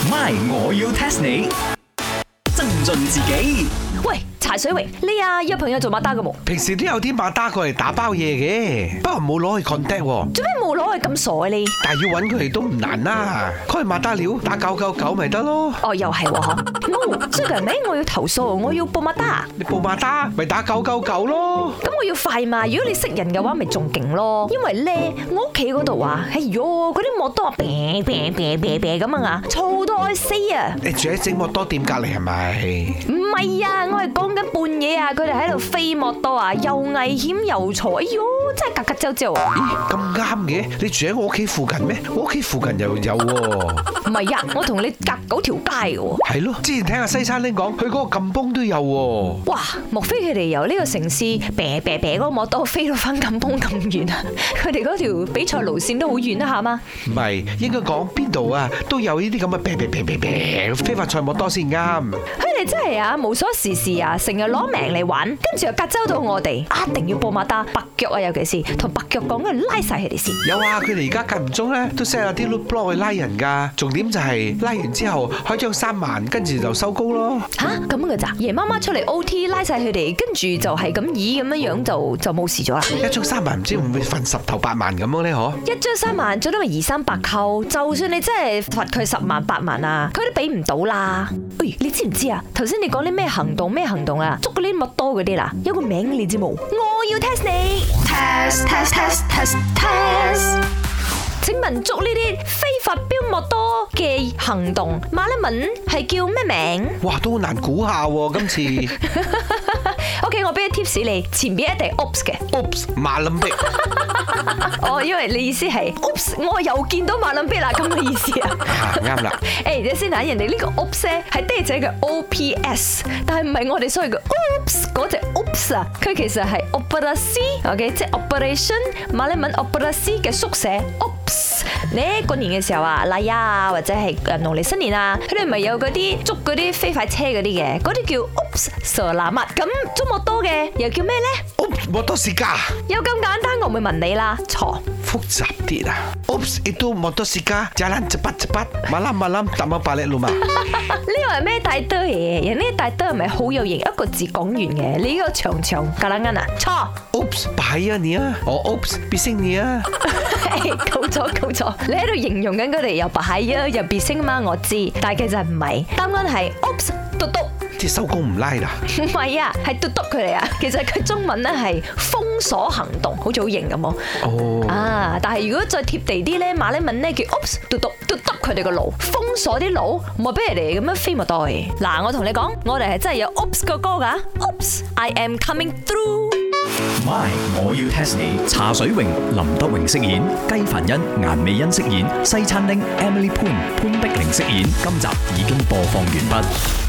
My， 我要 test 你。增進自己。 喂，茶水榮，你約朋友做馬打嘅冇？ 平時都有啲馬打過嚟打包嘢嘅，不過冇攞去 contact 喎。 做咩冇攞去咁傻啊你？ 但係要揾佢哋都唔難啦，佢係馬打料打999咪得咯。 哦，又係喎嗬。冇，最近咩？我要投訴，我要報馬打。 你報馬打咪打999咯。 咁我要快嘛？如果你識人嘅話，咪仲勁咯。因為咧，我屋企嗰度啊，哎喲，嗰啲摩多啤咁啊，嘈到我死啊！ 你住喺整摩多店隔離係咪？ 唔係啊，我係講緊半夜啊，佢哋喺度飛摩多啊，又危險又嘈，哎喲，真係格格周周啊！ 咦，咁啱嘅，你住喺我屋企附近咩？我屋企附近又有喎。 唔係啊，我同你隔9條街嘅喎。 係咯，之前聽阿西餐廳講，佢嗰個禁崩都有喎。 哇，莫非佢哋由呢個城市啤嗰個摩多飛到翻禁崩咁遠啊？佢哋嗰條比賽路線都好遠啊，下嘛？ 唔係，應該講邊度啊都有呢啲咁嘅啤非法賽摩多先啱。 佢哋真係啊，無所事事啊，成日攞命嚟玩，跟住又隔周到我哋，一定要報馬打白腳啊，尤其是同白腳講，跟住拉晒佢哋先。 有啊，佢哋而家間唔中咧都 set 下啲 loot block 去拉人㗎。重點就係拉完之後開張3萬，跟住就收工咯。 吓，咁樣嘅咋？夜媽媽出嚟 OT 拉晒佢哋，跟住就係咁以咁樣樣就冇事咗啦。 一張3萬唔知會唔會罰10頭8萬咁樣咧？嗬？ 一張3萬，最多咪200-300扣。就算你真係罰佢10萬8萬啊，佢都俾唔到啦。喂，你知唔知啊？頭先你講啲咩行動啊？捉嗰啲摩多嗰啲啦，有個名你知冇？我要 test 你 test。請問捉呢啲非法飆摩多嘅行動，馬來文係叫咩名？ 哇，都好難估下喎，今次。 OK， 我俾個 tips 你，前邊一定係 Oops 嘅。 Oops，馬林碧。 哦，因為你意思係 Oops，我又見到馬林碧啦，咁嘅意思啊？ 啱啦。 誒，你先睇人哋呢個 Oops 咧係爹仔嘅 OPS， 但係唔係我哋所謂嘅 Oops 嗰隻 Oops 啊，佢其實係 Operasi，OK， 即係 Operation 馬來文 Operasi 嘅縮寫 Oops。你過年嘅時候啊，例啊，或者係農曆新年啊，佢哋咪有嗰啲捉嗰啲飛快車嗰啲嘅，嗰啲叫 Oops Selamat。咁捉摩多嘅又叫咩咧？ Oops，摩多士加。 有咁簡單，我唔會問你啦。錯。 複雜啲啊 ！Oops，itu motor sika jalan cepat-cepat malam-malam tak mau balik rumah。 呢個係咩大堆嘢？人呢大堆係咪好有型？一個字講完嘅，你呢個長格撚啱啊？錯。 Oops，bahaya你啊！我 Oops，bising你啊！ 夠咗，你喺度形容緊佢哋又bahaya又bising嘛？我知，但係其實唔係，答案係 Oops，嘟嘟。 即係收工唔拉啦。 唔係啊，係嘟嘟佢哋啊。其實佢中文咧係封鎖行動，好似好型咁喎。 哦。啊， 但係如果再貼地啲咧，馬來文咧叫 Oops，嘟嘟佢哋個路，封鎖啲路，唔係俾人哋咁樣飛咪對。嗱，我同你講，我哋係真係有 Oops 個歌㗎。Oops，I am coming through。My， 我要 test 你。茶水榮、林德榮飾演，雞凡欣、顏美欣飾演，西餐廳 Emily Poon 潘碧玲飾演。今集已經播放完畢。